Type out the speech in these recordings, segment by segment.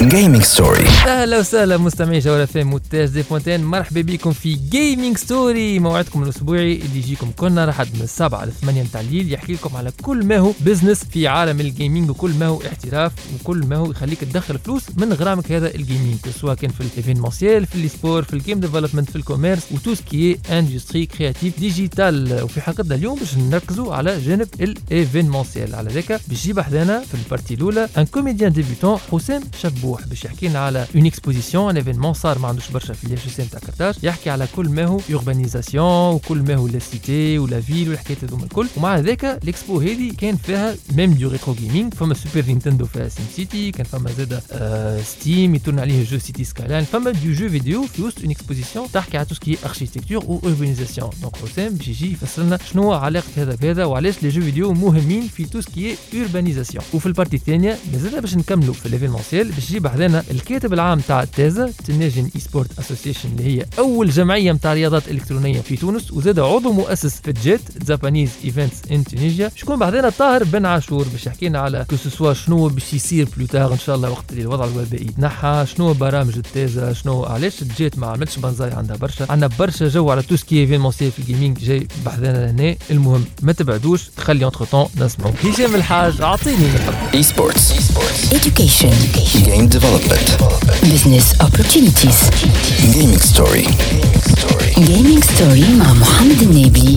Gaming Story. اهلا وسهلا مستمعي جوهرة FM مونتاج دي فونتين، مرحبا بكم في جيمنج ستوري، موعدكم الاسبوعي اللي يجيكم كلنا لحد من 7 ل 8 متاع الليل، يحكي لكم على كل ما هو بزنس في عالم الجيمنج وكل ما هو احتراف وكل ما هو يخليك تدخل فلوس من غرامك هذا الجيمنج، سواء كان في الايفينمونسيال، في السبور، في الجيم ديفلوبمنت، في الكوميرس وتو سكي اندستري كرياتيف ديجيتال. وفي حلقتنا اليوم باش نركزوا على جانب الايفينمونسيال، على ذاك باش يجيب حدانا في البارتي الاولى ان كوميديان ديبيوتون حسام شبوح باش يحكي لنا على اون اكسبوزيسيون، ان ايفينمون صار ما عندوش برشا في الاتش اس ام تاع كرتاج، يحكي على كل ما هو اوربانيزاسيون وكل ما هو لا سيتي ولا فيل والحكايات هذوما الكل. ومع ذاك الاكسبو هذه كان فيها ميم دو ريترو جيمنج، فما سوبر نينتندو فيها سيم سيتي، كان فما زاده ستيم يتورن عليه جو سيتي سكايلاين، فما دو جو فيديو في وسط اون اكسبوزيسيون تحكي على تو سكي اركيتكتور و اوربانيزاسيون. دونك حسام باش يجي يفسر لنا شنو علاقه هذا بهذا وعلاش لي جو فيديو مهمين في تو سكي اوربانيزاسيون. وفي البارتي الثانيه مازلنا باش نكملوا في ليفينمونسيال باش يجيب حدانا الكاتب العام تاع تازا تنجن اي سبورت اسوسيشن اللي هي اول جمعيه نتاع رياضات الكترونيه في تونس، وزاد عضو مؤسس في جيت جابانيز ايفنتس ان تونيزيا. شكون بعدنا طاهر بن عاشور باش يحكي لنا على كوسوسوا شنو باش يصير بلوتار ان شاء الله وقت اللي الوضع الوبائي يتنحى، شنو برامج التازا، شنو علاش جيت ما عملتش بنزاي، عندها برشا جو على تو سكي ايفينمونسيال في الجيمنج جاي بحذانا هنا. المهم ما تبعدوش، خلي اونتر طون نسمعوا هشام الحاج. اعطيني اي سبورتس، education, game development, business opportunities. gaming story. Gaming story مع محمد النبي.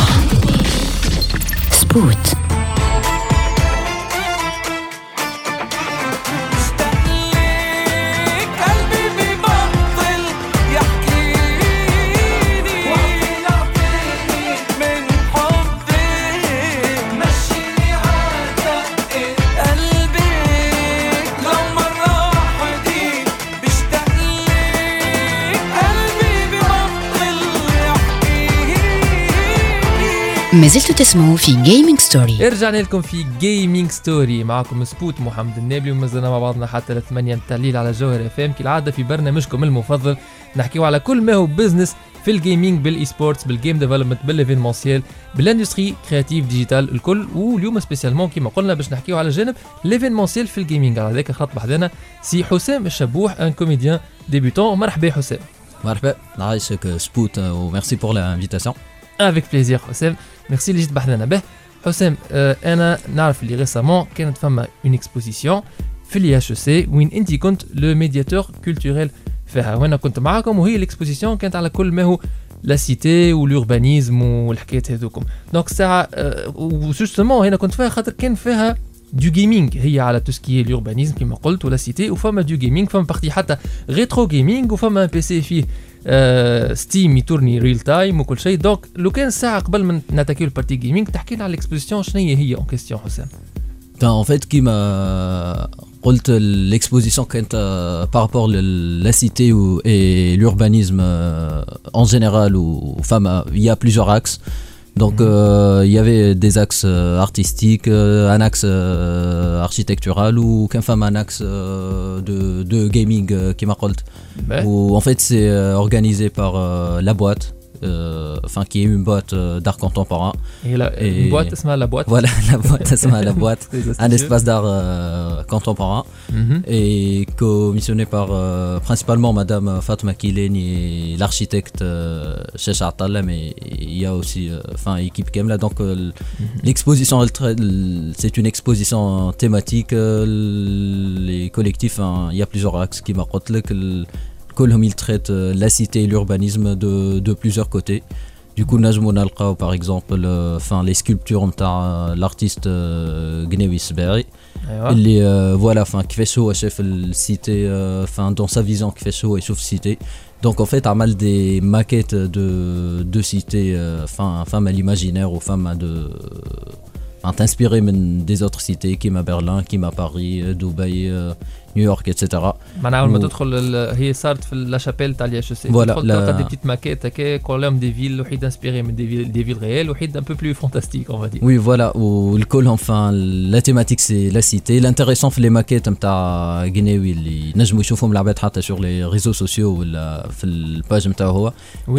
سبوت. ما زلتوا تسمعوا في جيمنج ستوري. رجعنا لكم في جيمنج ستوري، معكم سبوت محمد النبي، ومازلنا مع بعضنا حتى 8 متاع الليل على جوهر اف ام كالعاده في برنامجكم المفضل، نحكيو على كل ما هو بزنس في الجيمنج، بالاي سبورتس، بالجيم ديفلوبمنت، بالايفينمونسيال، بالاندستري كرياتيف ديجيتال الكل. واليوم سبيسيالمون كما قلنا باش نحكيو على جانب الايفينمونسيال في الجيمنج، على ذاك خط بحذنا سي حسام الشبوح ان كوميديان ديبيوتون. مرحبا حسام. مرحبا، نعيشك سبوت وميرسي بور لانفيتاسيون. افيك بليزير حسام، ميرسي اللي جيت بحثنا به. حسام انا نعرف اللي ريسامون كانت فما اون اكسبوزيسيون في الي اتش سي وين انت كنت لو ميدياتور كولتوريل فيها، وانا كنت معاكم، وهي الاكسبوزيسيون كانت على كل ما هو لا سيتي والوربانيزم والحكايات هذوكم. دونك ساعه وجوستومون هنا كنت فيها خاطر كان فيها دو جيمنج، هي على توسكي اليوربانيزم كما قلت ولا سيتي، وفما دو جيمنج، فما بارتي حتى ريترو جيمنج، وفما بي سي فيه ستيم يتورني ريل تايم وكل شيء. دونك لو كان ساعه قبل من نتاكيو البارتي جيمنج تحكي لنا على الاكسبوزيسيون شنو هي اون كيستيون حسام. En fait, كيما قلت l'exposition كانت par rapport la cité et l'urbanisme en général, où il y a plusieurs axes. Donc il y avait des axes artistiques, un axe architectural ou qu'un femme un axe de gaming qui m'a قلت. Où en fait c'est organisé par la boîte, enfin qui est une boîte d'art contemporain. Une boîte اسمها la boîte. Voilà, la boîte اسمها la boîte. Un espace d'art contemporain et commissionné par principalement madame Fatma Kileni, l'architecte Cheikh Atalla, mais il y a aussi enfin équipe Kemla. Donc l'exposition c'est une exposition thématique, les collectifs, il y a plusieurs axes qui m'a قلت لك. كلهم ils traitent la cité et l'urbanisme de plusieurs côtés. Du coup نجمو نلقاو par exemple enfin les sculptures نتاع l'artiste Gnewi Sberi اللي voilà enfin كيفاش هو شاف السيتي enfin dans sa vision كيفاش هو يشوف السيتي. Donc en fait عمل des maquettes de cités enfin à l'imaginaire ou enfin de t'inspirer des autres cités qui m'a Berlin, qui m'a Paris, Dubaï, نيويورك اتسيتيرا. معناها اول ما تدخل هي صارت في لا شابيل تاع الياش سي، تدخل تلقى دي بتيت ماكيت هكا كولوم دي فيل وحيد انسبيري من دي فيل ريال وحيد ان بو بلو فانتاستيك اون فادي. وي فوالا والكل enfin la thématique c'est la cité. L'intéressant في les maquettes نتاع غينيوي اللي نجموا يشوفهم العباد حتى sur les réseaux sociaux ولا في الباج نتاعو هو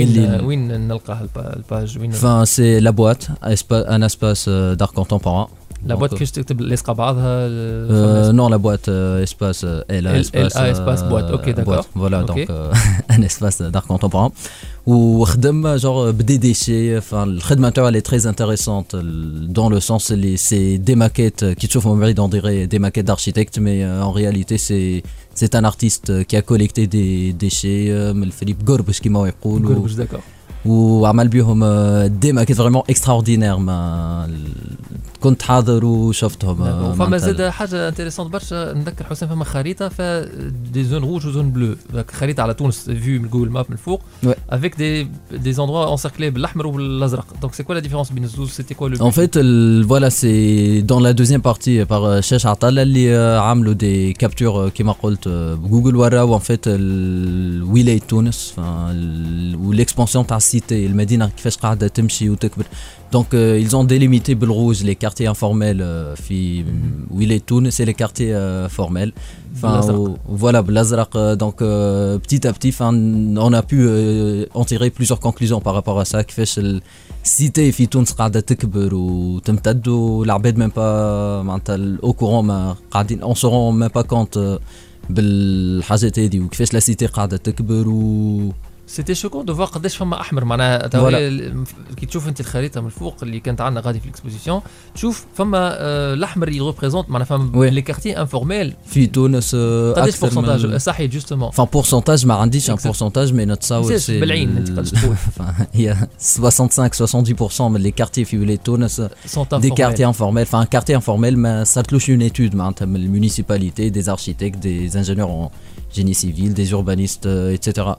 وين نلقاه الباج وين enfin c'est la boîte un espace d'art contemporain لا بوات كيفاش تكتب لاصقه بعضها نو لا بوات اسباس ال اسباس بوات اوكي داكور فوالا دونك ان اسباس دار كونتمبوران وخدم جور بدي ديشي الخدمه تاعو لي تري انتريسونت دون لو سونس اللي سي دي ماكيت كي تشوفهم من بعيد اون ديغي دي ماكيت d'architecte mais en réalité c'est un artiste qui a collecté des déchets من الفليب قربش كيما يقولوا قربش داكور وعمل بيهم دي ماكيت فريمون اكستراوردينير ما كنت حاضر وشفتهم. فما زاد حاجه انتريسونت برشا نذكر حسام فما خريطه ف دي زون روج وزون بلو خريطه على تونس فيو من جوجل ماب من الفوق افيك دي زوندروا انسيركلي بالاحمر والازرق دونك سي كوا لا ديفيرونس بين الزوز سيتي كوا لو ان فيت فوالا سي دون لا دوزيام بارتي بار شاش عطله اللي عملوا دي كابتور كيما قلت بجوجل وراو ان فيت ولايه تونس والاكسبانسيون تاع السيتي المدينه كيفاش قاعده تمشي وتكبر. Donc ils ont délimité بالrouge les quartiers informels في ولاية تونس et les quartiers formels. Voilà بالازرق donc petit à petit on a pu en tirer plusieurs conclusions par rapport à ça كيفاش السيتي في تونس قاعدة تكبر وتمتد والعباد même pas معناتها au courant ما قاعدين on se rend même pas compte بالحاجات هذه وكيفاش لا سيتي قاعدة تكبر سيتي شوكون دو فوا قداش فما احمر معناها كي تشوف انت الخريطه من الفوق اللي كانت عندنا غادي في الاكسبوزيسيون تشوف فما الاحمر يريبريزونت معناها فما لي كارتي انفورميل في تونس قداش بورسنتاج صحيح جوستومون بورسنتاج ما عنديش ان بورسنتاج مي نتصور سي بالعين انت قداش تقول هي 65-70% من لي كارتي في ولايه تونس دي كارتي انفورميل ان كارتي انفورميل ما صارتلوش اون ايتود معناتها من المونيسيباليتي دي اركيتكت دي انجينيور ان جيني سيفيل دي اوربانيست ايتترا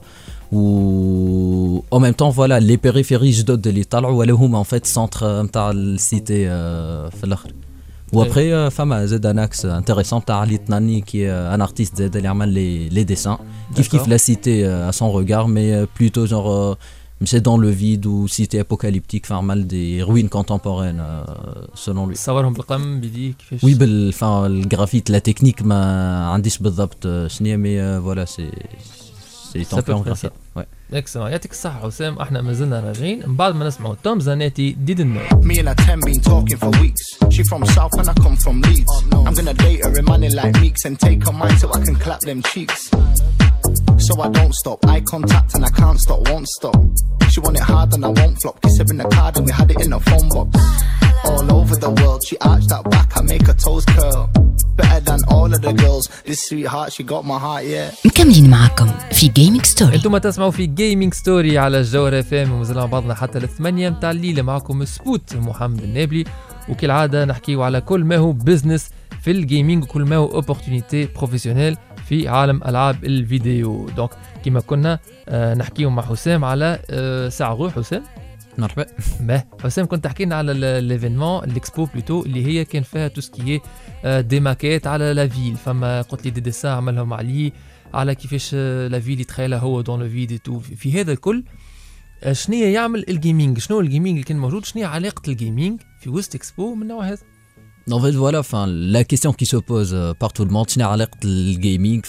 و en même temps voilà les périphéries جدد اللي طلعوا ولا هما en fait centre نتاع السيتي في الاخر. وابري فما زاد ان اكس انتريسون تاع علي طناني كي ان ارتيست زاد اللي عمل لي ديسان كيف لا سيتي à son regard mais plutôt genre مشى dans le vide ou cité apocalyptique فعمل des ruines contemporaines selon lui. صورهم بالقلم بيديه كيفاش وي بالجرافيت لا تكنيك ما عنديش بالضبط شنو مي فوالا سي سي طون وي اكسلون يعطيك الصحة حسام. احنا مازلنا راجعين من بعد ما نسمعوا توم زانيتي didn't know. Me and a 10 been talking for weeks. She from South and I come from Leeds. I'm gonna date her in money like Meeks and take her mind so I can clap them cheeks. So I don't stop, eye contact and I can't stop, won't stop. She want it hard and I won't flop. Kiss her in the card and we had it in a phone box. All over the world, she arched that back, I make her toes curl. Better than all of the girls. This sweetheart, she got my heart, yeah. مكملين معكم في جيمنج ستوري. انتم تسمعوا في جيمنج ستوري على الجوهرة FM ومازلنا بعضنا حتى ل8 متاع الليل. معكم سبوت محمد النابلي وكالعادة نحكيو على كل ما هو بزنس في الجيمنج وكل ما هو اوبورتونيتي بروفيسيونيل في عالم العاب الفيديو. دونك كما كنا نحكيو مع حسام على ساعة حسام. مرحبا. ما حسام كنت تحكي لنا على ليفينمون الاكسبو بلوتو اللي هي كان فيها تو سكي دي ماكيت على لا فيل. فما قلت لي دي ديسان عملهم عليه على كيفاش لا فيل يتخيلها هو دون لو فيديو تو. في هذا الكل شنو يعمل الجيمنج؟ شنو الجيمنج اللي كان موجود؟ شنو علاقة الجيمنج في وسط اكسبو من النوع هذا؟ En fait, voilà, la question qui se pose par tout le monde, c'est le gaming.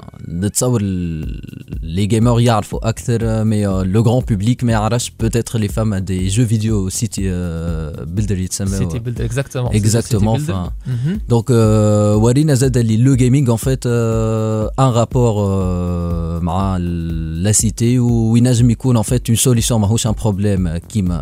Les gamers y arrivent acteur, mais le grand public, mais peut-être les femmes à des jeux vidéo, City Builder, City Builder, exactement. Exactement. Donc, Warina Zadali, le gaming, en fait, un rapport avec la cité où il n'a jamais eu en fait une solution, mais un problème qui m'a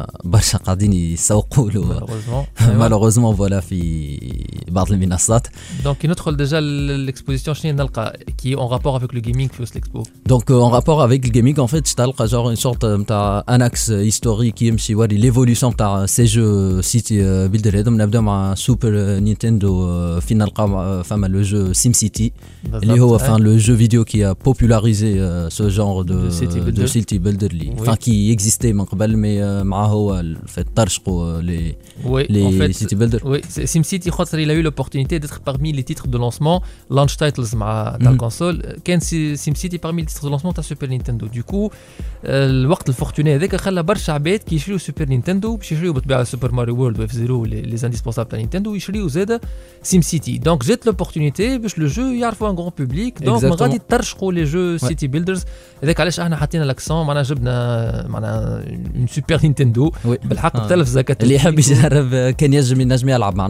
malheureusement, voilà, بعض المنصات. Donc ندخل déjà l'exposition شنو نلقى qui en rapport avec le gaming في l'expo. Donc en rapport avec le gaming en fait تلقى genre une sorte نتاع un axe historique يمشي يوري l'évolution تاع ces jeux City Builder. هذوم نبداو مع سوبر نينتندو فين نلقى فما لو جو سيم سيتي اللي هو le jeu vidéo qui a popularisé ce genre de City Builder اللي qui existait من قبل mais مع هو ترشقوا les City Builder. Oui, SimCity خاطر il a eu l'opportunité d'être parmi les titres de lancement launch titles مع تاع الكونسول. كان SimCity parmi les titres de lancement تاع سوبر نينتندو. دوكو الوقت الفورتوني هذاك خلى برشا عباد كي يشريو سوبر نينتندو باش يشريو بالطبيعه سوبر ماريو وورلد واف زيرو لي انديسبونسابل تاع نينتندو يشريو زاده SimCity. دونك جات لوبورتونيتي باش لو جو يعرفوا ان غران بوبليك. دونك غادي ترشقوا لي جو سيتي بيلدرز. هذاك علاش احنا حطينا لاكسون معنا جبنا معنا اون سوبر نينتندو بالحق التلفزه اللي يحب يجرب كان ينجم يلعب معناتها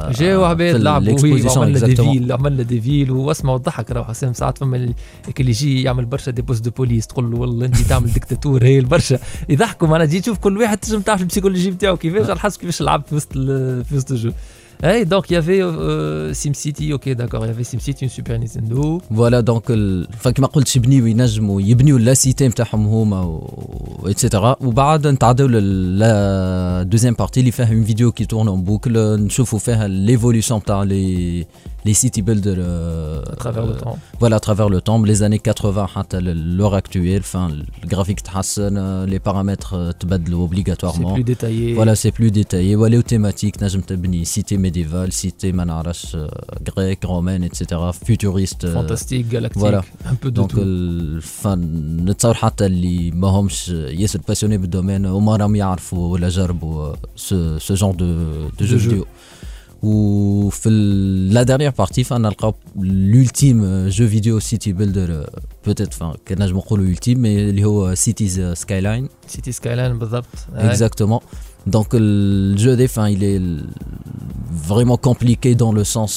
جاوا عباد لعبوا وعملنا عملنا ديفيل واسمعوا الضحك. راه حسام ساعات فما اللي يجي يعمل برشا دي بوست دو بوليس تقول له والله انت تعمل ديكتاتور هي البرشا يضحكوا. معنا تجي تشوف كل واحد تنجم تعرف البسيكولوجي نتاعو كيفاش على حسب كيفاش لعب في وسط الجو. Hey, donc il y avait SimCity, ok d'accord, il y avait SimCity, une Super Nintendo. Voilà donc كما قلت يبنيو ينجموا يبنيو لا سيتي نتاعهم هما ايتترا. وبعد نتعداو لا دوزيام بارتي اللي فيها اون فيديو كي تورن اون بوكل نشوفوا فيها ليفولوشن تاع les city builders à travers le temps. Voilà, à travers le temps, les années 80 حتى l'heure actuelle, enfin le graphique تحسن, les paramètres تبدلوا obligatoirement. C'est plus détaillé. Voilà, c'est plus détaillé. Voilà, les thématiques نجم تبني cité médiévale, cité ما نعرفش grecque, romaine, etc. futuriste. Fantastique, galactique. Voilà. Un peu de donc, tout. enfin نتصور حتى اللي ما همش ياسر passionnés بالdomaine وما راهم يعرفوا ولا جربوا ce genre de jeux vidéo. Ou la dernière partie, on a l'ultime jeu vidéo city builder, peut-être, enfin, que je me l'ultime, mais c'est Cities Skyline. City Skyline, بالضبط. Exactement. Donc le jeu des fins, il est vraiment compliqué dans le sens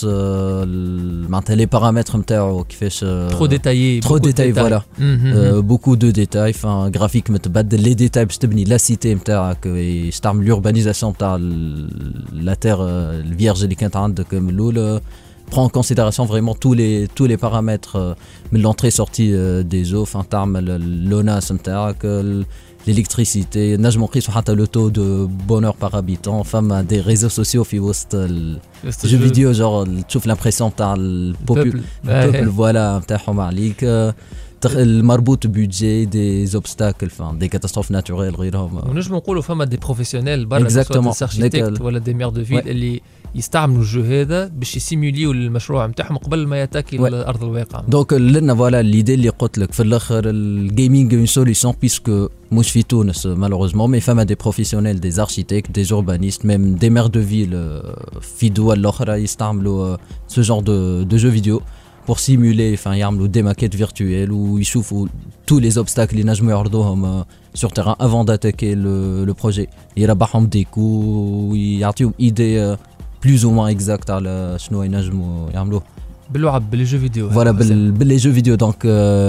les paramètres qui fait trop détaillé, voilà. Beaucoup de détails, enfin graphique les détails باش تبني la cité نتاعك يستعمل l'urbanisation تاع la terre vierge اللي كانت عندك من الاول. Prend en considération vraiment tous les paramètres من l'entrée sortie des eaux, enfin تعمل l'ONAS نتاعك l'électricité, نجم نقيسوا حتى le taux de bonheur par habitant, enfin des réseaux sociaux في وسط jeux vidéo, genre تشوف l'impression تاع البوبل voilà نتاعهم عليك. المربوط بودجي دي زوبستاكل فان دي كاتاستروف ناتوريل غيرهم. ونجم نقولوا فما دي بروفيسيونيل برا سواء اركيتكت ولا دي مير دو فيل اللي يستعملوا الجو هذا باش يسيموليو المشروع نتاعهم قبل ما يتاكي لارض الواقع. دونك لنا فوالا ليدي اللي قلت لك في الاخر الجيمنج اون سوليسيون بيسكو مش في تونس مالوروزمون مي فما دي بروفيسيونيل دي اركيتكت دي اوربانيست ميم دي مير دو فيل في دول اخرى يستعملوا ce genre de jeux vidéo pour simuler, enfin يعملوا des maquettes virtuelles où ils يشوفوا tous les obstacles اللي نجموا يعرضوهم sur terrain avant d'attaquer le projet. يربحهم des coups ويعطيهم idée plus ou moins exacte على شنو ينجموا يعملوه باللعب باللي جو فيديو. Voilà باللي جو فيديو donc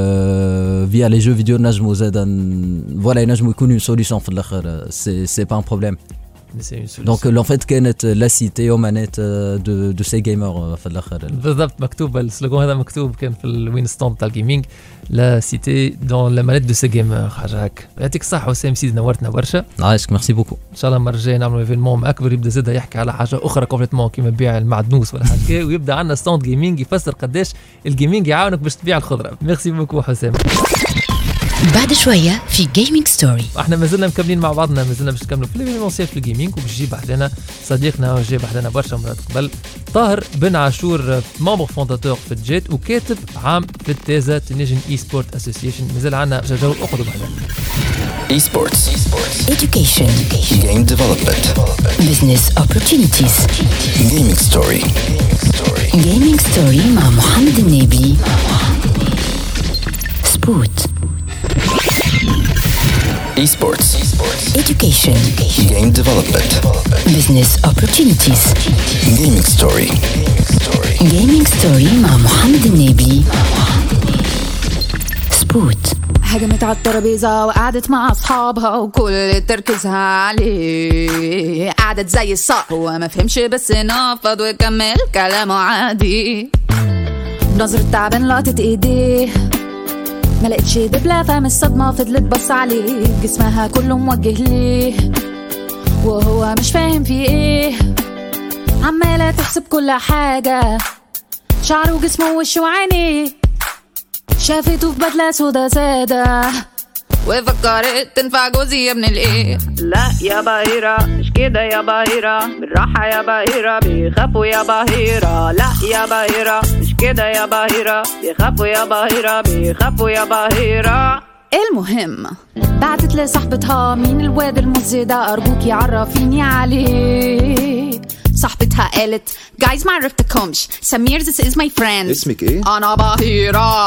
via les jeux vidéo نجموا زادا voilà ينجموا يكونوا une solution في الاخر c'est pas un problème. Donc en fait كانت لا سيتي ومانيت دو سي جيمر في الاخر. بالضبط مكتوب السلوغان هذا مكتوب كان في الوين ستوند تاع الجيمنج لا سيتي دون لا مانيت دو سي جيمر حاجه هكا. يعطيك الصحه وسام سيد نورتنا برشا. عايشك ميرسي بوكو. ان شاء الله المره الجايه نعملوا ايفينمون اكبر يبدا زاده يحكي على حاجه اخرى كومبليتمون كيما بيع المعدنوس ولا حاجه ويبدا عندنا ستوند جيمنج يفسر قداش الجيمنج يعاونك باش تبيع الخضره. ميرسي بوكو حسام. بعد شوية في جيمنج ستوري احنا مازلنا مكملين مع بعضنا مازلنا باش نكملوا في ليفينمونسيال في الجيمنج وباش يجي بحدنا صديقنا جاي بحدنا برشا مرات قبل طاهر بن عاشور ممبر فونداتور في الجيت وكاتب عام في التازا تنجن اي سبورت اسوسيشن. مازال عندنا جو اخرى بحدنا. اي سبورتس education game development business opportunities gaming story مع محمد النبي. سبوت esports education game development business opportunities gaming story مع محمد النبي. سبوت هجمت على الترابيزة وقعدت مع أصحابها وكل تركيزها عليه قعدت زي الصقر وما فهمش بس نفض وكمل كلامه عادي. بنظرة تعبان لقطت ايديه ما لقيتش دبلة فهم الصدمة فضلت بص عليه جسمها كله موجه ليه وهو مش فاهم في ايه عمالة تحسب كل حاجة شعره وجسمه ووشه وعينيه شافته في بدلة سودا سادة وفكرت تنفع جوزي يا ابن الايه. لا يا باهرة مش كده يا باهرة بالراحة يا باهرة بيخافوا يا باهرة. لا يا باهرة مش كده يا باهرة بيخافوا يا باهرة بيخافوا يا باهرة. المهم بعتت لصاحبتها مين الواد المزي ده أرجوكي عرفيني عليه. صاحبتها قالت guys ما عرفتكمش سمير this is my friend. اسمك ايه؟ أنا باهرة.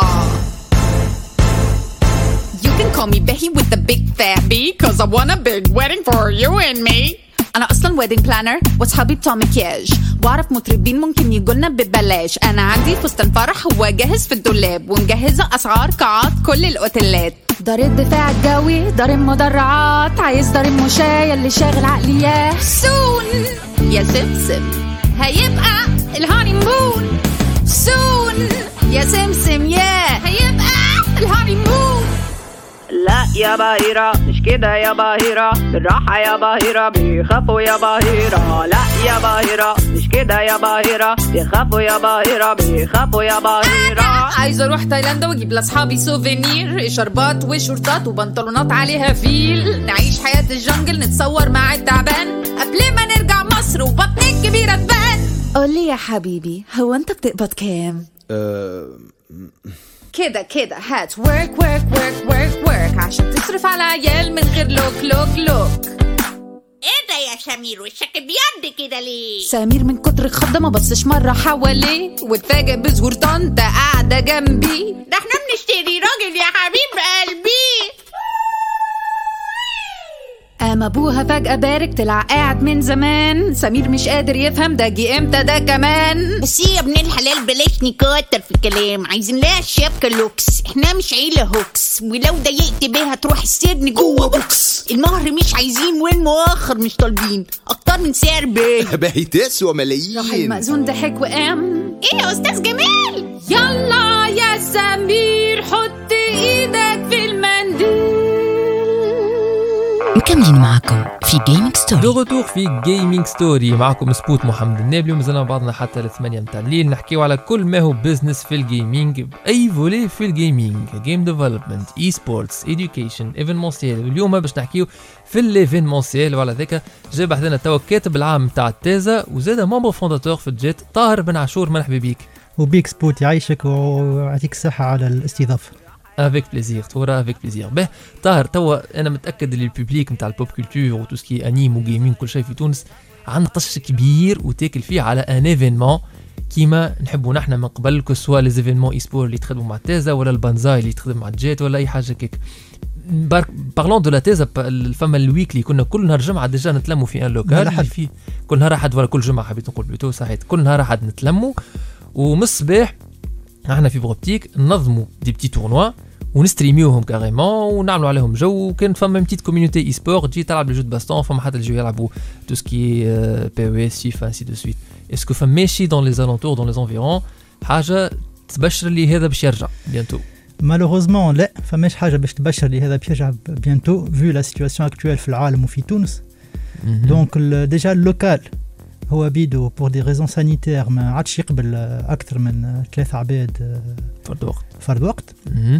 You can call me Becky with the big fat B cause I want a big wedding for you and me. انا اصلا ويدنج بلانر واصحابي بتوع مكياج، واعرف مطربين ممكن يجولنا ببلاش. انا عندي فستان فرح هو جاهز في الدولاب، ومجهزه اسعار قاعات كل الاوتيلات. دار الدفاع الجوي، دار المدرعات، عايز دار المشاية اللي شاغل عقلياه. سون يا سمسم هيبقى الهانيمون، سون يا سمسم يا هيبقى الهانيمون. لا يا باهرة مش كده يا باهرة، بالراحة يا باهرة بيخافوا يا باهرة. لا يا باهرة مش كده يا باهرة، بيخافوا يا باهرة بيخافوا يا باهرة. عايزة اروح تايلاند واجيب لاصحابي سوفينير، شربات وشورتات وبنطلونات عليها فيل، نعيش حياة الجنجل نتصور مع التعبان قبل ما نرجع مصر وبطني الكبيرة تبان. قولي يا حبيبي هو انت بتقبض كام؟ كده هات work work work work work عشان تصرف على عيال من غير لوك. ايه ده يا سمير وشك بيض كده ليه؟ سمير من كتر الخضة ما بصش مرة حواليه، واتفاجئ بظهور طنطا قاعدة جنبي. ده احنا بنشتري راجل يا حبيب قلبي. قام ابوها فجأة بارك طلع قاعد من زمان، سمير مش قادر يفهم ده جه امتى ده كمان. بس يا ابن الحلال بلاش نكتر في الكلام، عايزين لها شبكة لوكس، احنا مش عيلة هوكس، ولو ضايقت بيها تروح السجن جوه بوكس. المهر مش عايزين والمؤخر مش طالبين، اكتر من سعر باهي تسوى ملايين. راح المأذون ضحك وقام. ايه يا استاذ جمال؟ يلا يا سمير حط ايدك في المنديل. مكملين معكم في جيمنج ستوري. دو غوتور في جيمنج ستوري، معكم سبوت محمد النابلي، ومازلنا بعضنا حتى 8 متاع الليل نحكيو على كل ما هو بزنس في الجيمنج بأي فولي في الجيمنج، جيم ديفلوبمنت، اي سبورتس، ايديوكيشن، ايفينمونسيال. واليوم باش نحكيو في الايفينمونسيال، وعلى ذاك جاي بحثنا توا الكاتب العام تاع التازا وزاد ممبر فونداتور في الجيت طاهر بن عاشور. مرحبا بيك. وبيك سبوت يعيشك ويعطيك الصحة على الاستضافة. افيك بليزير تورا افيك بليزير. به طاهر توا انا متاكد اللي البوبليك نتاع البوب كولتور وتوسكي انيم وجيمين كل شيء في تونس عندنا طش كبير وتاكل فيه على ان ايفينمون كيما نحبوا نحن من قبل، كو سوا لي زيفينمون اي سبور اللي تخدموا مع التازا ولا البانزاي اللي تخدم مع الجيت ولا اي حاجه كيك. بارلون دو لا تازا فما الويكلي كنا كل نهار جمعه ديجا نتلموا في ان لوكال فيه كل نهار احد ولا كل جمعه حبيت نقول بلوتو صحيت كل نهار احد نتلموا، ومن الصباح احنا في بروبتيك ننظموا دي بتي تورنوا ونستريميوهم كاريمون ونعملوا عليهم جو. وكان فما بتيت كوميونيتي اي سبور تجي تلعب لي جو دو باستون، فما حتى يجيو يلعبوا تو سكي بي او اس فيفا انسي دو سويت. اسكو فما ماشي دون لي زالونتور دون لي انفيرون حاجه تبشر لي هذا باش يرجع بيانتو؟ مالوغوزمون لا، فماش حاجه باش تبشر لي هذا باش يرجع بيانتو فيو لا سيتواسيون اكطويل في العالم وفي تونس. دونك ديجا اللوكال هو بيدو بور دي ريزون سانيتير ما عادش يقبل اكثر من 3 عباد فرد وقت.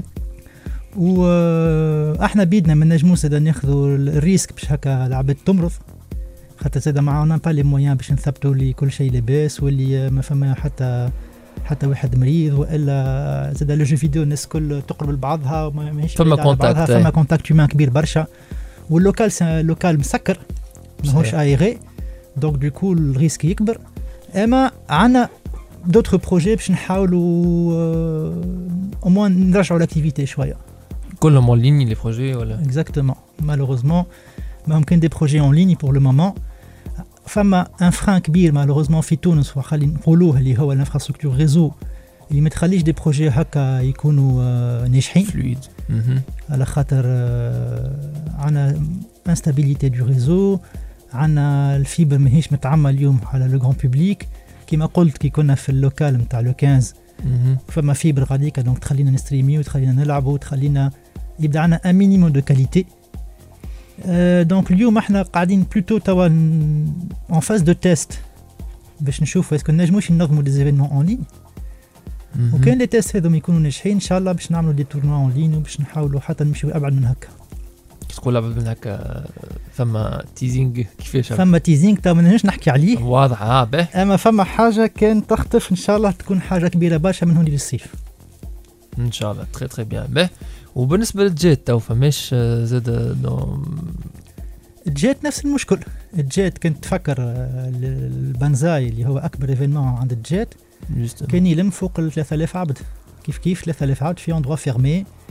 واحنا بيدنا ما نجموش زاد ناخذوا الريسك باش هكا العباد تمرض، خاطر زاد معانا با لي مويان باش نثبتوا لي كل شيء لاباس واللي ما فما حتى واحد مريض، والا زاد لو جو فيديو الناس كل تقرب لبعضها وماهيش فما كونتاكت، فما كونتاكت هيومان كبير برشا، واللوكال لوكال مسكر ماهوش ايغي، دونك دوكو الريسك يكبر. اما عندنا دوتر بروجي باش نحاولوا او موان نرجعوا لاكتيفيتي شويه. كلهم اون ليني لي بروجي ولا اكزاكتومون؟ مالوغوزمون ما ممكن دي بروجي اون ليني بور لو مومون. فما ان فران كبير مالوغوزمون في تونس وخلي نقولوه اللي هو الانفراستركتور ريزو اللي ما تخليش دي بروجي هكا يكونوا ناجحين فلويد، على خاطر عندنا انستابيليتي دو ريزو، عندنا الفيبر ماهيش متعمل اليوم على لو غران بوبليك كما قلت كي كنا في اللوكال نتاع لو 15 فما فيبر غاديكا دونك تخلينا نستريميو وتخلينا نلعبوا وتخلينا يبدا عندنا ان مينيموم دو كاليتي. دونك اليوم احنا قاعدين بلوتو توا اون فاز دو تيست باش نشوفوا اسكو نجموش ننظموا دي زيفينمون اون لين، وكان لي تيست هذوما يكونوا ناجحين ان شاء الله باش نعملوا دي تورنوا اون لين وباش نحاولوا حتى نمشيو ابعد من هكا. تقول ابعد من هكا فما تيزينغ كيفاش؟ فما تيزينغ تا ما نجمش نحكي عليه واضح به، اما فما حاجه كان تخطف ان شاء الله تكون حاجه كبيره برشا من هون للصيف ان شاء الله. تري تري بيان به. وبالنسبه للجيت تو فماش زاد الجيت نفس المشكل. الجيت كنت تفكر البانزاي اللي هو اكبر ايفينمون عند الجيت كان يلم فوق 3000 عبد، كيف 3000 عبد في اندروا فيرمي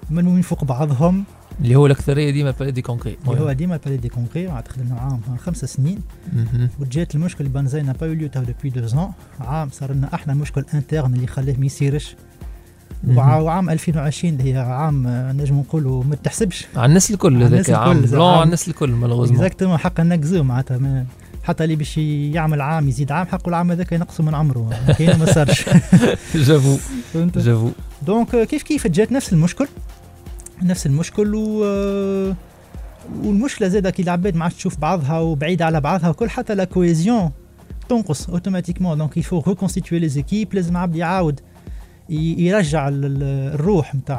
ملمومين فوق بعضهم، اللي هو الاكثريه ديما البالي دي كونكري، اللي هو ديما البالي دي كونكري. عاد خدمنا عام 5 سنين وجات المشكل بنزاي نا با يو تو دوبي 2 عام صار لنا احنا مشكل انترن اللي خلاه ما يصيرش. وعام 2020 اللي هي عام نجم نقولوا ما تحسبش على الناس الكل، هذاك عام بلون على الناس الكل مالوغوزمون اكزاكتومون. حق نكزو معناتها حتى اللي باش يعمل عام يزيد عام حقه العام هذاك ينقصوا من عمره، كاين ما صارش. جافو دونك كيف جات نفس المشكل والمشكله زاده كي العباد ما عادش تشوف بعضها وبعيده على بعضها وكل، حتى لا كويزيون تنقص اوتوماتيكمون. دونك يفو ريكونستيتوي لي زيكيب، لازم عبد يعاود يرجع الروح نتاع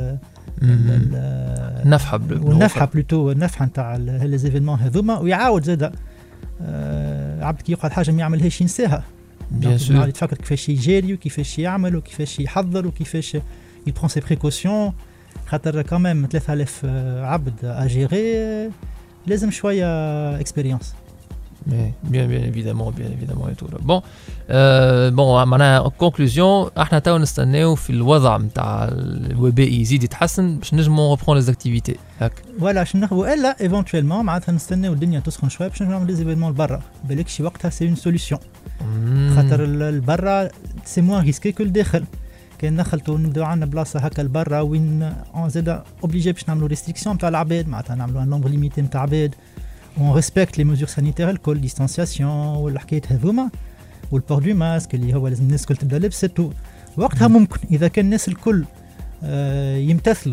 النفحه بلوتو النفحه نتاع لي زيفينمون هذوما، ويعاود زاده عبد كي يقعد حاجه ما يعملهاش ينساها. يتفكر كيفاش يجاري وكيفاش يعمل وكيفاش يحضر وكيفاش يبرون سي بريكوسيون، خاطر كمان 3000 عبد اجيري لازم شويه اكسبيريونس. bien évidemment et tout. Bon معناها كونكلوزيون، احنا تو نستناو في الوضع نتاع الوباء يزيد يتحسن باش نجموا ريبرون لي زاكتيفيتي هاك ولا باش نخدموا، الا ايفونتويلمون معناتها نستناو الدنيا تسخن شويه باش نعملوا لي زيفينمون لبرا. بالك شي وقتها سي اون سوليسيون، خاطر البرا سي موان ريسكي كو الداخل. كان دخلتوا نبداو عندنا بلاصه هكا لبرا وين زاد اوبليجي باش نعملوا ريستريكسيون نتاع العباد، معناتها نعملوا ان نومبر ليميتي نتاع عباد، on respecte les mesures sanitaires الكل، distanciation والحكايات هذوما والبور دو ماسك اللي هو لازم الناس الكل تبدا لبسته. وقتها ممكن اذا كان الناس الكل يمتثلوا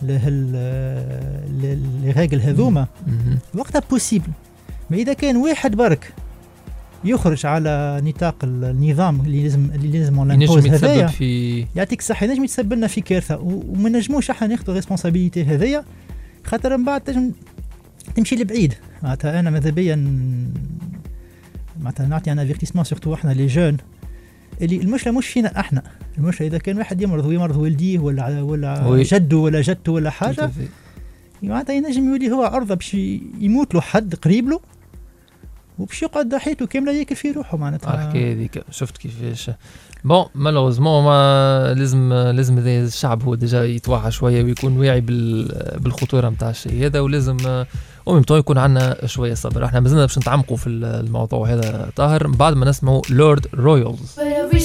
لي ريغل هذوما وقتها بوسيبل. ما اذا كان واحد برك يخرج على نطاق النظام اللي لازم نمبوز هذايا يعطيك الصحه ينجم يتسبب لنا في كارثه، وما نجموش احنا ناخذوا ريسبونسابيلتي هذيا، خاطر من بعد تمشي لبعيد. معناتها انا ماذا بيا معناتها نعطي انا افيرتيسمون سورتو احنا لي جون، اللي المشكله مش فينا احنا، المشكله اذا كان واحد يمرض والديه ولا جده ولا جدته ولا حاجه، معناتها ينجم يولي هو عرضه باش يموت له حد قريب له وباش يقعد حياته كامله ياكل في روحه. معناتها الحكايه هذيك شفت كيفاش بون مالوزمون ما لازم الشعب هو ديجا يتوعى شويه ويكون واعي بالخطوره نتاع الشيء هذا، ولازم وممتو يكون عندنا شويه صبر. احنا مازلنا باش نتعمقوا في الموضوع هذا طاهر بعد ما نسمعوا لورد رويالز.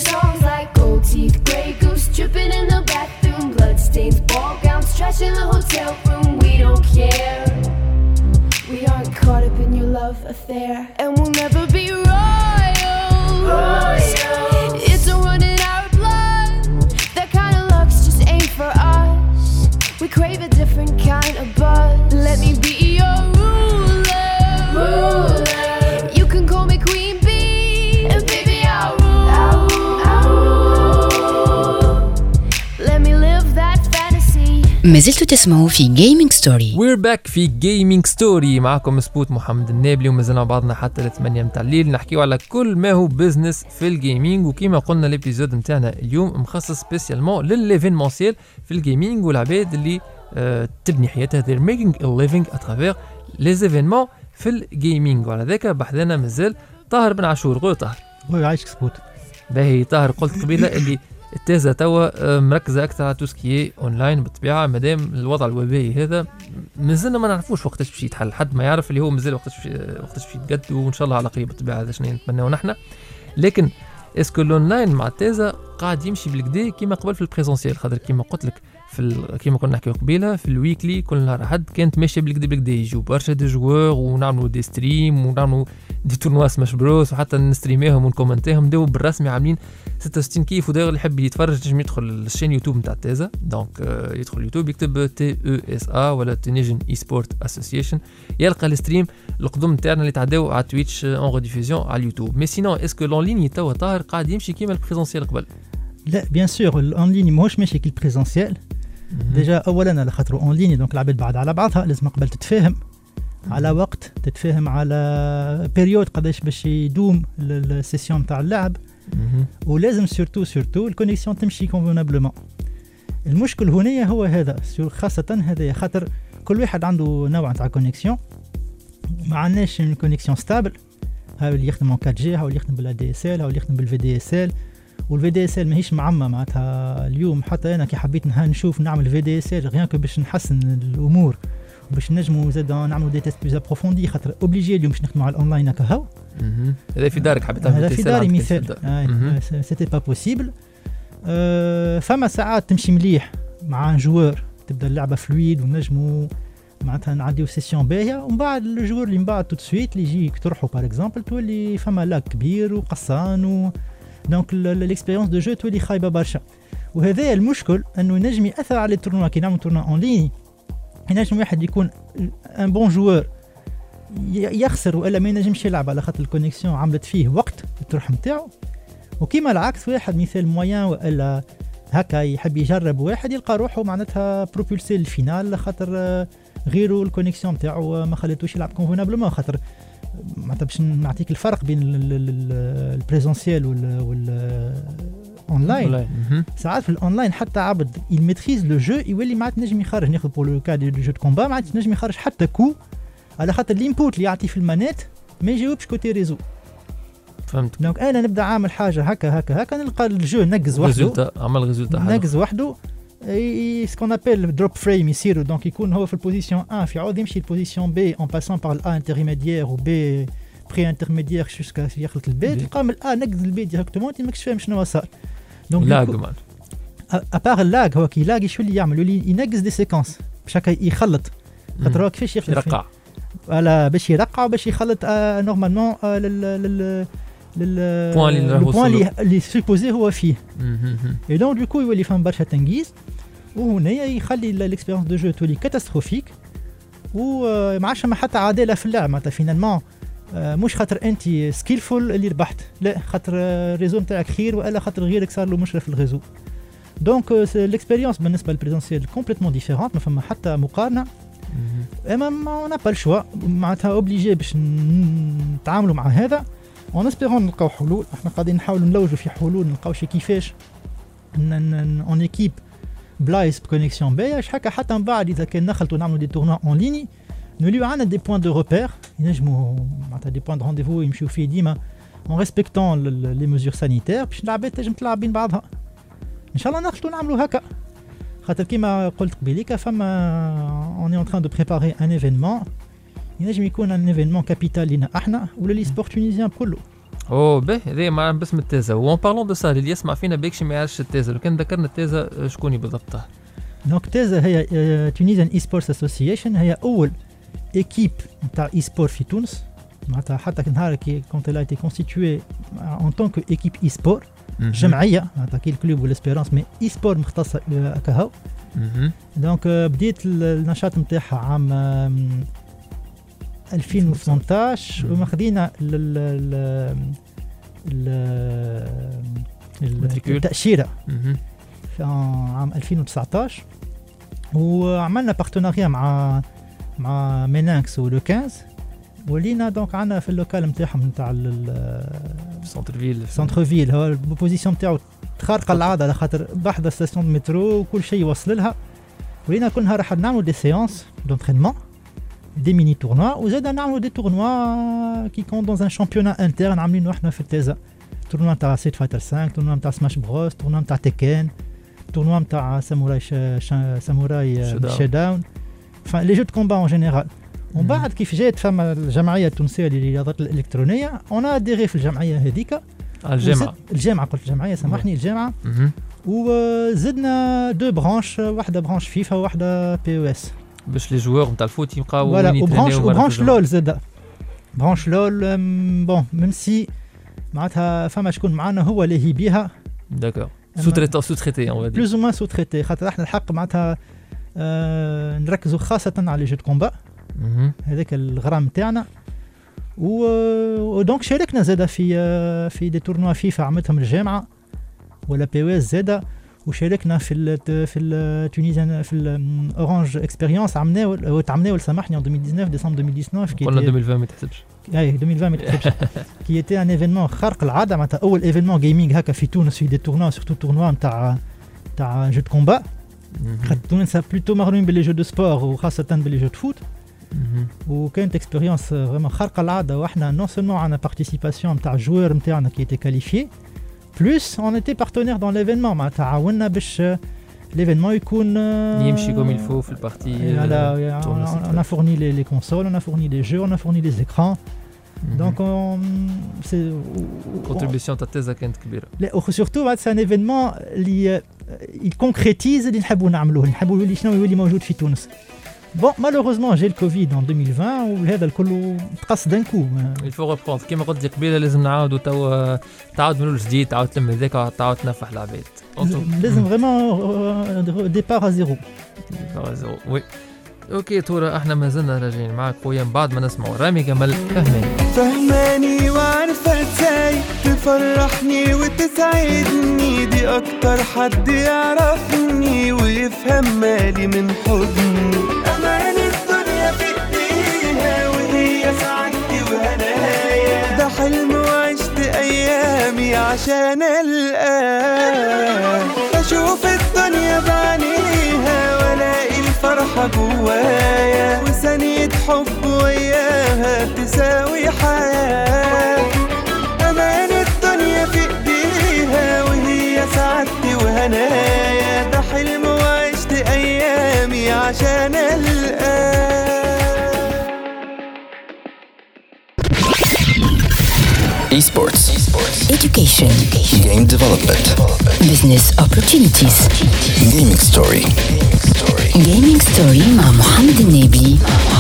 We aren't caught up in your love affair, and we'll never be royals. It's a run in our blood. That kind of luck's just ain't for us. We crave a different kind of buzz. Let me be your ruler. You can call me Queen Bee, and baby I'll rule. Let me live that fantasy. ما زلتوا تسمعوا في جيمنج ستوري. وير باك في جيمنج ستوري، معكم سبوت محمد النابلي، ومازلنا بعضنا حتى 8 متاع الليل نحكيو على كل ما هو بزنس في الجيمنج. وكما قلنا الابيزود نتاعنا اليوم مخصص سبيسيالمون للليفينمونسيال في الجيمنج والعباد اللي تبني حياتها they're making a living à travers les événements في الجيمنج. وعلى ذاك بحثنا مازال طاهر بن عاشور. قول طاهر. قول عايشك سبوت. باهي طاهر، قلت قبيله اللي التازة توا مركزة أكثر على توسكي أونلاين بالطبيعة، مادام الوضع الوبائي هذا مازلنا ما نعرفوش وقتاش باش يتحل، حد ما يعرف اللي هو مازال وقتاش باش يتقد، وإن شاء الله على قريب بالطبيعة هذا شنو نتمناو نحن. لكن اسكو الأونلاين مع التازة قاعد يمشي بالكدا كيما قبل في البريزونسيال؟ خاطر كيما قلت لك كيما كنا نحكيو قبيله في الويكلي كل نهار حد كانت ماشيه بالكدا يجوا برشا دي جوار ونعملوا دي ستريم ونعملوا دي تورنوا سماش بروس وحتى نستريميهم ونكومنتيهم. داو بالرسمي عاملين 66 كيف، وداير اللي يحب يتفرج نجم يدخل للشين يوتيوب نتاع تازا. دونك يدخل يوتيوب يكتب TESA ولا تونيجن اي سبورت اسوسيشن يلقى الستريم القدم نتاعنا اللي تعداو على تويتش اون ريديفوزيون على اليوتيوب. مي سينون اسكو لون ليني توا طاهر قاعد يمشي كيما البريزونسيال قبل؟ لا بيان سور الاون ليني ماهوش ماشي كي البريزونسيال. ديجا اولا على خاطر اون ليني دونك العباد بعد على بعضها لازم قبل تتفاهم على وقت، تتفاهم على بيريود قداش باش يدوم السيسيون تاع اللعب، ولازم سورتو الكونيكسيون تمشي كونفونابلومون. المشكل هنا هو هذا خاصه هذا، خاطر كل واحد عنده نوع تاع كونيكسيون، ما عندناش كونيكسيون ستابل. هاو اللي يخدم 4G، هاو اللي يخدم بالADSL، هاو اللي يخدم بالVDSL، والفي دي اس ال ماهيش معمى معناتها. اليوم حتى انا كي حبيت نشوف نعمل في دي اس ال غير باش نحسن الامور باش نجموا زاد نعملوا دي تيست بلوز ابروفوندي خاطر اوبليجي اليوم باش نخدموا على الاونلاين هكا هاو. هذا في دارك حبيت تعمل هذا في داري مثال سيتي با بوسيبل. فما ساعات تمشي مليح مع جوار تبدا اللعبه فلويد ونجموا معناتها نعديو سيسيون باهيه ومن بعد الجوار اللي من بعد تو سويت اللي يجي يقترحوا باغ اكزومبل تولي فما لاك كبير وقصان دونك الاكسبيريونس دو جو تولي خايبه برشا. وهذا المشكل انه ينجم ياثر على التورنوا كي نعملوا تورنوا اون لين. ينجم واحد يكون ان بون جوار يخسر والا ما ينجمش يلعب على خاطر الكونيكسيون عملت فيه وقت الطرح نتاعو. وكيما العكس واحد مثال موين والا هكا يحب يجرب واحد يلقى روحه معناتها بروبولسي للفينال خاطر غيره الكونيكسيون نتاعو ما خلاتوش يلعب كونفونابلومون. خاطر معناتها باش نعطيك الفرق بين البريزونسيال وال اونلاين. ساعات في الاونلاين حتى عبد يميتريز لو جو يولي معناتها نجم يخرج ناخذ بور لو كا دو جو دو كومبا معناتها نجم يخرج حتى كو على خاطر الانبوت اللي يعطي في المانيت ما يجاوبش كوتي ريزو. فهمت. دونك انا نبدا عامل حاجه هكا نلقى الجو نقز وحده عمل ريزولتا نقز وحده سكون ابل دروب فريم يصيروا دونك يكون هو في البوزيسيون 1 في عوض يمشي البوزيسيون بي اون باسون بار الا انترميديير و بي بري انترميديير جوسكا يخلط البي تلقى من الا نقز البي ديريكتومون انت ماكش فاهم شنو صار. دونك لاغ مان ابار اللاغ هو كي لاغ شو اللي يعمل يولي ينقز دي سيكونس باش هكا يخلط خاطر هو كيفاش يرقع ولا باش يرقع باش يخلط نورمالمون لل البوان اللي سوبوزي هو فيه. اي دونك دوكو يولي فهم برشا تنقيز وهنا يخلي الاكسبيريونس دو جو تولي كاتاستروفيك وما عادش ما حتى عداله في اللعب معناتها فينالمون مش خاطر انت سكيلفول اللي ربحت لا خاطر الريزو نتاعك خير والا خاطر غيرك صار له مشرف الريزو. دونك الاكسبيريونس بالنسبه للبريزونسيال كومبليتمون ديفيرونت ما فما حتى مقارنه. اما ما با الشوا معناتها اوبليجي باش نتعاملوا مع هذا اون اسبيرون نلقاو حلول. احنا قاعدين نحاولوا نلوجوا في حلول نلقاو شي كيفاش اون ايكيب بلايص بكونيكسيون باهيه هكا حتى من بعد اذا كان نخلطوا نعملوا دي تورنوا اون ليني نوليو عندنا دي بوين دو روبير ينجموا معناتها دي بوين دو رونديفو يمشيو فيه ديما اون ريسبكتون لي ميزور سانيتير باش العباد تنجم تلعب بين بعضها. ان شاء الله نخلطوا نعملوا هكا خاطر كيما قلت قبيليك فما اون اون تران دو بريباري ان ايفينمون ينجم يكون ان ايفينمون كابيتال لينا احنا ولا لي سبور تونيزيان كله. اوه باهي هذا مع باسم التازا. وان بارلون دو سا اللي يسمع فينا بيكش ما يعرفش التازا لو كان ذكرنا التازا شكوني بالضبط؟ دونك تازا هي تونيزيان اي سبورتس اسوسيشن هي اول ايكيب نتاع اي سبور في تونس معناتها حتى نهار كي كونت لا ايتي كونستيتوي ان طونك ايكيب اي سبور جمعيه معناتها كي الكلوب والاسبيرونس مي اي سبور مختصه كهو. دونك بديت النشاط نتاعها عام 2018 وماخذين التأشيرة في عام 2019 وعملنا بارتناريا مع مينانكس ولو 15 ولينا دونك عندنا في اللوكال نتاعهم نتاع سنتر فيل هو البوزيسيون نتاعو خارقه العاده على خاطر بحذا ستاسيون مترو وكل شيء يوصل لها. ولينا كل نهار راح نعملوا دي سيونس دونترينمون دي ميني تورنوا وزاد نعملوا دي تورنوا كي كون دون ان شامبيونا انترن عاملينه احنا في التازا تورنوا نتاع سيت فايتر 5 تورنوا نتاع سماش بروس تورنوا نتاع تيكن تورنوا نتاع ساموراي شي داون لي جو دو كومبا اون جينيرال. ومن بعد كيف جات فما الجمعيه التونسيه للرياضات الالكترونيه انا اديري في الجمعيه هذيك الجامعه قلت الجمعيه سامحني الجامعه وزدنا دو برانش واحده برانش فيفا وواحده بي او اس باش لي جوور نتاع الفوت يبقاو وبرانش لول زاد برانش لول بون ميم سي معناتها فما شكون معانا هو اللي هي بيها داكور سو تريتي اون بلوز او موان سو تريتي خاطر احنا الحق معناتها نركزوا خاصه على لي جو دو كومبا هذاك الغرام تاعنا ودونك شاركنا زاده في دي تورنوا فيفا عملتهم الجامعه ولا بي او اس زاده وشاركنا في التونيزيان في الاورانج اكسبيريونس عملناه سامحني en 2019 ديسمبر 2019 كي قلنا 2020 ما تحسبش اي 2020 ما تحسبش كي ايتي ان ايفينمون خارق العاده معناتها اول ايفينمون جيمنج هكا في تونس في دي تورنوا سورتو تورنوا نتاع جو دو كومبا خاطر تونس بلوتو مغرومين باللي جو دو سبور وخاصه باللي جو دو فوت وكانت اكسبيريونس فريمون خارقه العاده واحنا نون سولمون عندنا بارتيسيباسيون نتاع الجوار نتاعنا كي ايتي كاليفيي plus on était partenaire dans l'événement معناتها عاوننا باش l'événement يكون يمشي comme il faut في البارتي. On a fourni les consoles, on a fourni les jeux, on a fourni les écrans. Donc c'est contribution تاع كانت كبيره. لا surtout c'est un événement اللي il concrétise اللي نحبوا نعملوه، نحبوا يولي شنو يولي موجود في تونس. Bon, malheureusement, j'ai le Covid en 2020 وهذا الكل تقص d'un coup. Il faut reprendre. كما قلت لك قبيله لازم نعاودوا تو تعاود من الجديد، تعاود تلم هذاك، تعاود تنفح العباد. لازم vraiment départ à zéro. Départ à zéro. Oui. اوكي تورا احنا ما زلنا راجعين معك خويا بعد ما نسمعوا رامي جمال فهماني وعارفة ازاي تفرحني وتسعدني، دي اكتر حد يعرفني ويفهم مالي من حضني. امان الدنيا في ايديها وهي سعادتي وهنايا، ده حلم وعشت ايامي عشان القاه اشوف الدنيا بعينيها والاقي الفرحة جوايا، وثانية حب وياها تساوي حياة. أمان الدنيا في إيديها وهي سعادتي وهنايا، ده حلم وعشت أيامي عشان القاه. Esports. Education. Game development. Business opportunities. Gaming story. Gaming story مع محمد النبي.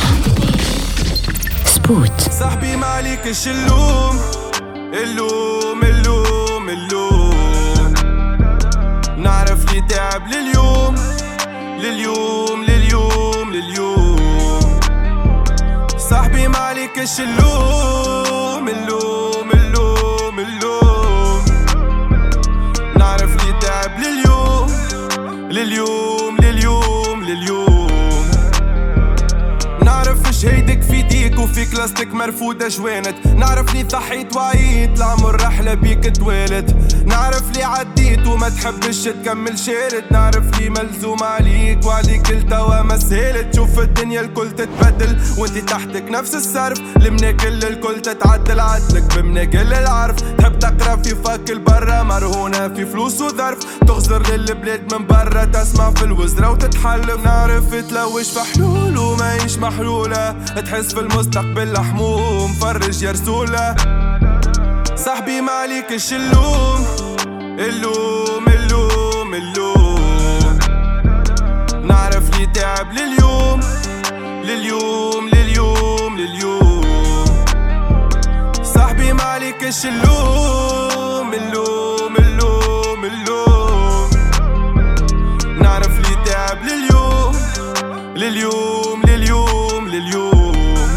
سبوت. صاحبي ما عليكش اللوم اللوم اللوم اللوم، نعرف لي تعب لليوم لليوم لليوم لليوم. صاحبي ما عليكش اللوم اللوم اللوم اللوم، نعرف لي تعب لليوم لليوم لليوم لليوم. نعرف اش هيدك في ديك وفي كلاستك مرفودة جوانت، نعرف لي ضحيت وعيت العمر رحلة بيك توالد، نعرف لي عديت وما تحبش تكمل شارد، نعرف لي ملزوم عليك وعليك التوا ما سهلت. شوف الدنيا الكل تتبدل وانت تحتك نفس الصرف، المناكل الكل تتعدل عدلك بمناكل العرف. تحب تقرا في فك البرة مرهونة في فلوس وظرف، تغزر للبلاد من برا تسمع في الوزرة وتتحلف. نعرف تلوش في حلول وما يش محلولة، تحس في المستقبل حموم فرج يا رسولة. صاحبي ما عليكش اللوم اللوم اللوم اللوم، نعرف لي تعب لليوم لليوم لليوم لليوم. صاحبي ما عليكش اللوم اللوم اللوم اللوم، نعرف لي تعب لليوم لليوم لليوم لليوم.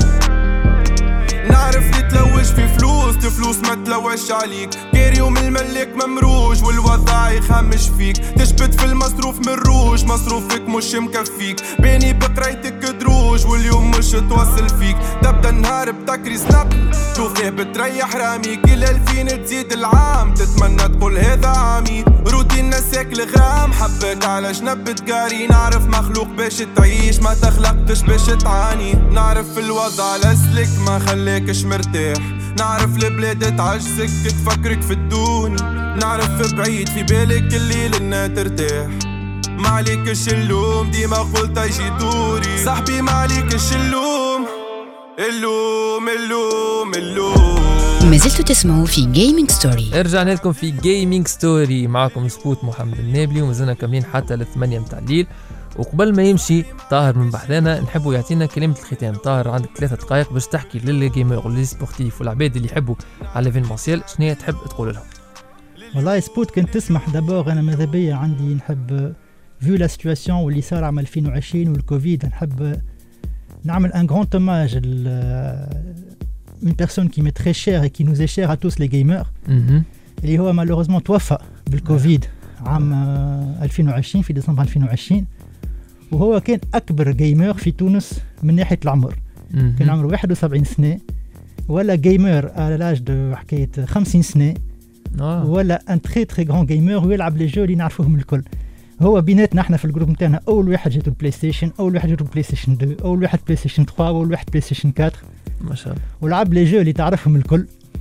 نعرف لي تلوش في فلوس ما تلوش عليك، كاري ومن الملك ممروج والوضع يخمش فيك. تشبت في المصروف من روج مصروفك مش مكفيك، بيني بقرايتك دروج واليوم مش توصل فيك. تبدا النهار بتكري سناب توفيه بتريح رامي، كل 2000 تزيد العام تتمنى تقول هذا عامي. روتين نساك الغرام حبك على جنب تقاري، نعرف مخلوق باش تعيش ما تخلقتش باش تعاني. نعرف الوضع لسلك ما خليكش مرتاح، نعرف البلاد تعجزك تفكرك في الدوني. نعرف بعيد في بالك الليل انها ترتاح، ما عليكش اللوم ديما قلت يجي دوري. صاحبي ما عليكش اللوم اللوم اللوم اللوم. ما زلتوا تسمعوا في جيمنج ستوري. رجعنا لكم في جيمنج ستوري معكم سبوت محمد النابلي، ومازلنا كاملين حتى 8 متاع الليل. وقبل ما يمشي طاهر من بحذانا نحبوا يعطينا كلمة الختام. طاهر عندك 3 دقائق باش تحكي للجيمر ولي سبورتيف والعباد اللي يحبوا على ليفينمونسيال شنو تحب تقول لهم. والله سبوت كنت تسمح دابور انا ماذا بيا عندي نحب فيو لا سيتواسيون واللي صار عام 2020 والكوفيد، نحب نعمل ان غران توماج une personne qui m'est très chère et qui nous est chère à tous les gamers اللي هو malheureusement توفى بالكوفيد عام 2020 في ديسمبر 2020. وهو كان أكبر جيمر في تونس من ناحية العمر، كان عمره 71 سنة، ولا جيمر على لاج دو حكاية 50 سنة، ولا ان تري تري غران جيمر ويلعب لي جو اللي نعرفوهم الكل. هو بيناتنا احنا في الجروب نتاعنا أول واحد جاتو البلاي ستيشن، أول واحد جاتو البلاي ستيشن 2، أول واحد بلاي ستيشن 3، أول واحد بلاي ستيشن 4 ما شاء الله، ولعب لي جو اللي تعرفهم الكل.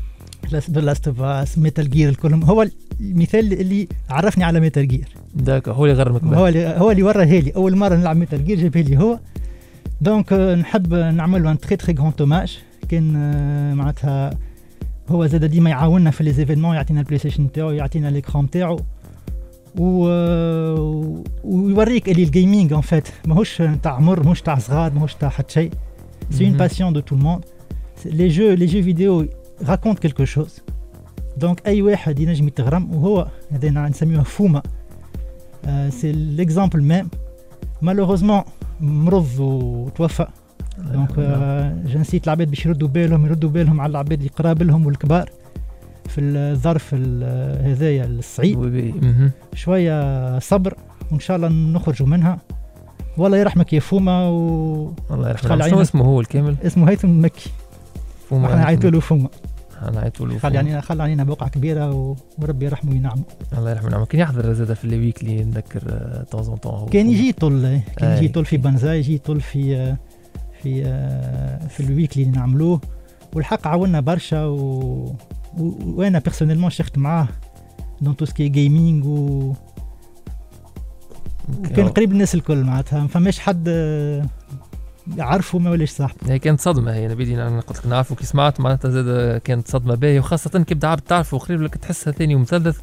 لاست اوف اس، ميتال جير، الكلهم. هو المثال اللي عرفني على ميتال جير. داك هو اللي غرمك. هو اللي وراه لي اول مره نلعب ميتال جير، جابها لي هو. دونك نحب نعمل ان تري تري غران توماج. كان معناتها هو زاد ديما يعاوننا في لي زيفينمون، يعطينا البلاي ستيشن تاعو، يعطينا ليكران تاعو، ويوريك اللي الجيمنج ان فات ماهوش تاع عمر، ماهوش تاع صغار، ماهوش تاع حد شيء. سي اون باسيون دو تو الموند. لي جو فيديو راكونت كيلكو شوز. دونك اي واحد ينجم يتغرم، وهو هذا نسميوه فوما. سي ليكزامبل ميم. مالوغوزمون مرض وتوفى. دونك جنسيت العباد باش يردوا بالهم على العباد اللي قراب لهم والكبار في الظرف هذايا الصعيب. شويه صبر وان شاء الله نخرجوا منها. والله يرحمك يا فوما. الله يرحمه. شنو اسمه هو الكامل؟ اسمه هيثم المكي. فوما. احنا نعيطوا له فوما. خلي علينا بقعه كبيره وربي يرحمه وينعمه. الله يرحمه وينعمه. كان يحضر زاده في الويك اللي نذكر طون طون. كان يجي يطل في بنزا، يجي يطل في الويك اللي نعملوه. والحق عاوننا برشا وانا بيرسونيلمون شفت معاه دون تو سكي جيمنج وكان قريب الناس الكل. معناتها ما فماش حد يعرفه ما ولاش صاحب. هي كانت صدمه. هي نبيدي انا قلت لك نعرفه كي سمعت معناتها زاد كانت صدمه باهيه، وخاصه كي بدا عبد تعرفه قريب لك تحسها ثاني ومثلث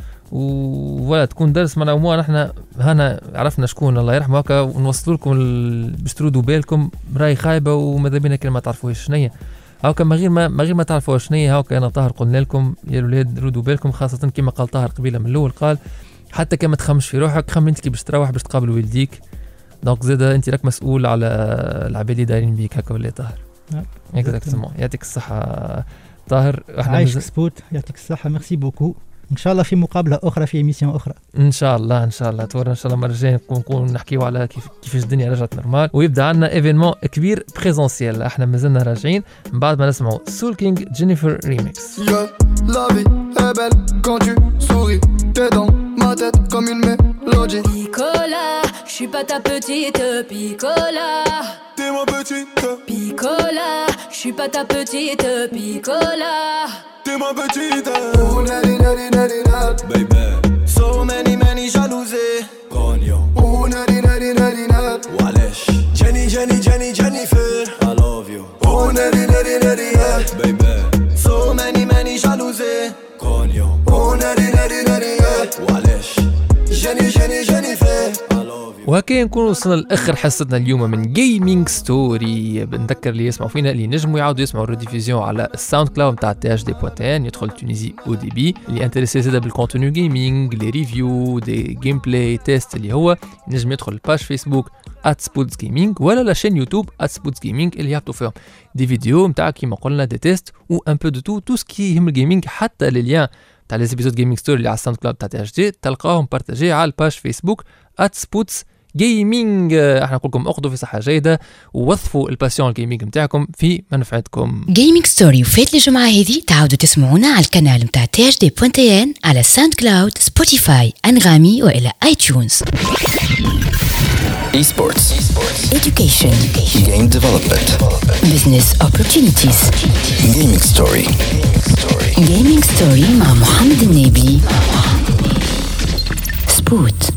ولا تكون درس. معنا عموما احنا هنا عرفنا شكون الله يرحمه هكا، ونوصلوا لكم باش تردوا بالكم راي خايبه وماذا بينا كلمه ما تعرفوهاش شنيا هاكا. ما غير ما تعرفوا شنيا هاكا. انا طاهر قلنا لكم يا الاولاد ردوا بالكم، خاصه كما قال طاهر قبيله من الاول، قال حتى كما تخمش في روحك، خم انت كي باش تروح باش تقابل والديك. دونك زاد انت راك مسؤول على العباد اللي دايرين بيك هكا ولا طاهر. اكزاكتومون. يعطيك الصحه طاهر. عايشك سبوت. يعطيك الصحه. ميرسي بوكو. ان شاء الله في مقابله اخرى في ايميسيون اخرى ان شاء الله. تورنا ان شاء الله المره الجايه نكون نحكيو على كيفاش الدنيا رجعت نورمال، ويبدا عندنا ايفينمون كبير بريزونسيال. احنا مازلنا راجعين من بعد ما نسمعوا سول كينج جينيفر ريميكس. La vie est belle quand tu souris, t'es dans ma tête comme une mélodie. Picola, je suis pas ta petite Picola. T'es ma petite Picola, je suis pas ta petite Picola. T'es ma petite. Oh nari nari nari nari, baby. So many jalousies. Cognon. Oh nari nari nari nari. Walesh. Jennifer. I love you. Oh nari nari nari nari, baby. So many jalousies. Cognon. Oh nari nari nari nari. Walesh. Jennifer. وهكا نكون وصلنا لاخر حصتنا اليوم من جيمنج ستوري. بنذكر اللي يسمعوا فينا اللي نجموا يعاودوا يسمعوا الريديفيزيون على الساوند كلاود نتاع THD.N. يدخل تونيزي او دي بي. اللي انتريسي زاده بالكونتوني جيمنج، لي ريفيو، دي جيم بلاي تيست، اللي هو نجم يدخل الباج فيسبوك @SputzGaming ولا لا شين يوتيوب @SputzGaming اللي يحطوا فيهم دي فيديو نتاع كيما قلنا دي تيست و ان بو دو تو سكي يهم الجيمنج. حتى لي ليان تاع لي زيبيزود جيمنج ستوري اللي على الساوند كلاود تاع THD تلقاهم بارتاجي على الباج فيسبوك @SputzGaming. احنا نقول لكم اخذوا في صحه جيده ووظفوا الباسيون الجيمنج نتاعكم في منفعتكم. جيمنج ستوري وفات الجمعه هذه تعاودوا تسمعونا على القناه نتاع THD.N على ساوند كلاود، سبوتيفاي، انغامي والى ايتونز. Esports. Education. Game development. Business opportunities. Gaming story. Gaming story مع محمد النبي. سبوت.